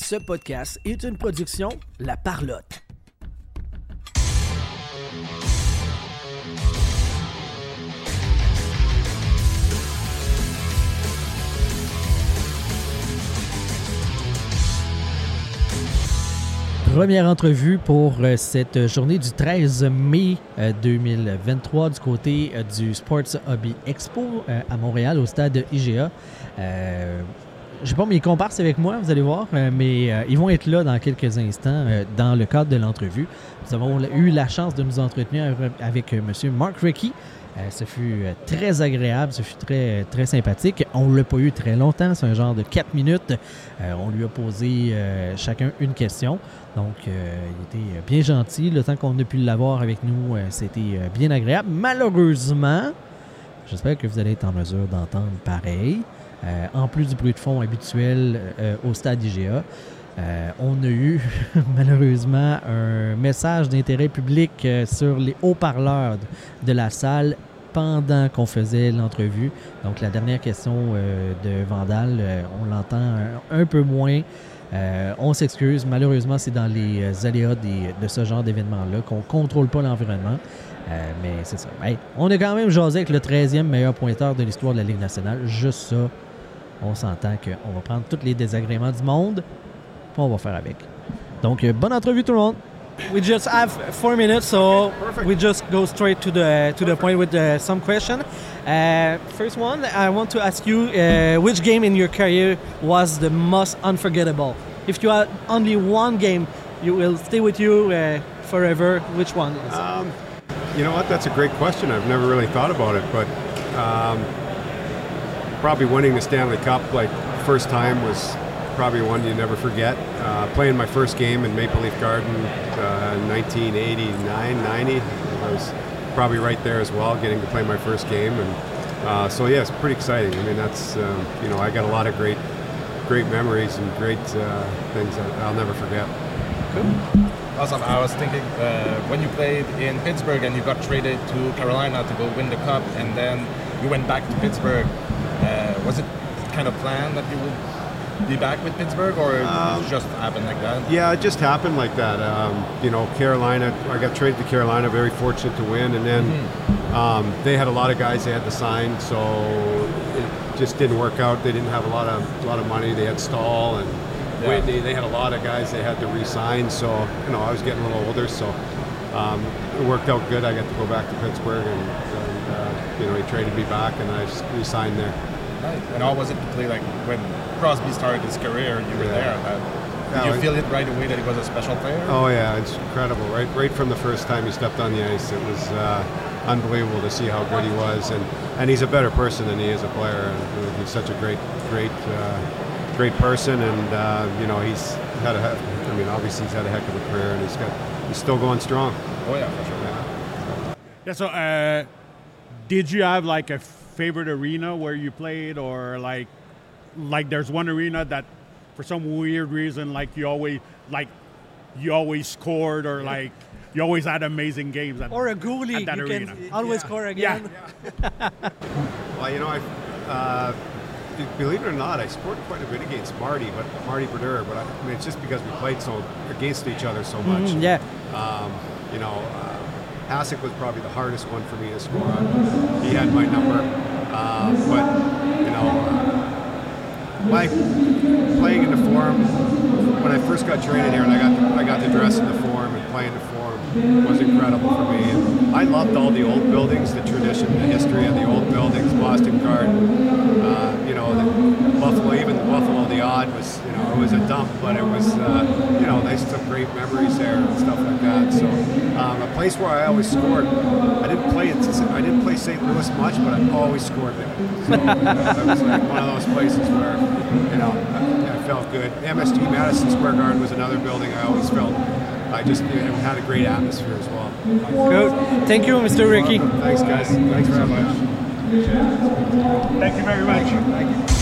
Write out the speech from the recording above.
Ce podcast est une production La Parlotte. Première entrevue pour cette journée du 13 mai 2023 du côté du Sports Hobby Expo à Montréal au stade IGA. Je n'ai pas mes comparses avec moi, vous allez voir, mais ils vont être là dans quelques instants dans le cadre de l'entrevue. Nous avons eu la chance de nous entretenir avec M. Mark Recchi. Ce fut très agréable, ce fut très, très sympathique. On ne l'a pas eu très longtemps, c'est un genre de 4 minutes. On lui a posé chacun une question. Donc, il était bien gentil. Le temps qu'on a pu l'avoir avec nous, c'était bien agréable. Malheureusement, j'espère que vous allez être en mesure d'entendre pareil. En plus du bruit de fond habituel au stade IGA, on a eu malheureusement un message d'intérêt public sur les haut-parleurs de la salle pendant qu'on faisait l'entrevue. Donc la dernière question de Vandal, on l'entend un peu moins. On s'excuse, malheureusement c'est dans les aléas de ce genre d'événement-là qu'on ne contrôle pas l'environnement. Mais c'est ça. Hey, on a quand même jasé avec le 13e meilleur pointeur de l'histoire de la Ligue nationale. Juste ça, on s'entend qu'on va prendre tous les désagréments du monde puis on va faire avec. Donc, bonne entrevue tout le monde. We just have 4 minutes, so we just go straight to the point with some question. First one, I want to ask you, which game in your career was the most unforgettable? If you had only one game, you will stay with you forever. Which one is it? You know what? That's a great question. I've never really thought about it, but probably winning the Stanley Cup, like first time, was probably one you never forget. Playing my first game in Maple Leaf Garden, 1989, 90. I was probably right there as well, getting to play my first game, and so yeah, it's pretty exciting. I mean, that's I got a lot of great memories and great things that I'll never forget. Cool. Awesome. I was thinking when you played in Pittsburgh and you got traded to Carolina to go win the cup, and then you went back to Pittsburgh. Was it kind of planned that you would be back with Pittsburgh, or it just happened like that? Yeah, it just happened like that. Carolina, I got traded to Carolina, very fortunate to win, and then they had a lot of guys they had to sign, so it just didn't work out. They didn't have a lot of money. They had Stahl and Whitney. They had a lot of guys they had to re-sign, so I was getting a little older, so it worked out good. I got to go back to Pittsburgh, and he traded me back, and I just re-signed there. Right. And how was it to play, like when Crosby started his career, you were there? Did you feel it right away that he was a special player? Oh yeah, it's incredible. Right from the first time he stepped on the ice, it was unbelievable to see how good he was, and he's a better person than he is a player. And he's such a great person, and he's had obviously he's had a heck of a career, and he's still going strong. Oh yeah, for sure. Yeah. So, did you have like a favorite arena where you played, or like there's one arena that for some weird reason you always scored, or like you always had amazing games at, or a goalie at that you arena? Can always score again. Yeah. Well, believe it or not, I scored quite a bit against Marty Brodeur, but it's just because we played so against each other so much. Hasek was probably the hardest one for me to score on. He had my number, playing in the Forum, when I first got traded here and I got to dress in the Forum and play in the Forum was incredible for me. And I loved all the old buildings, the tradition, the history of the old buildings, Boston Garden, the Buffalo, even the Buffalo, the Odd was, it was a dump, but it was, there's some great memories there and stuff like that. So a place where I always scored, I didn't play St. Louis much, but I always scored there. So that was like one of those places where, I felt good. MSG, Madison Square Garden, was another building I always felt. I just had a great atmosphere as well. Good. Thank you, Mr. Recchi. Thanks, guys. Thanks very much. Thank you very much. Thank you.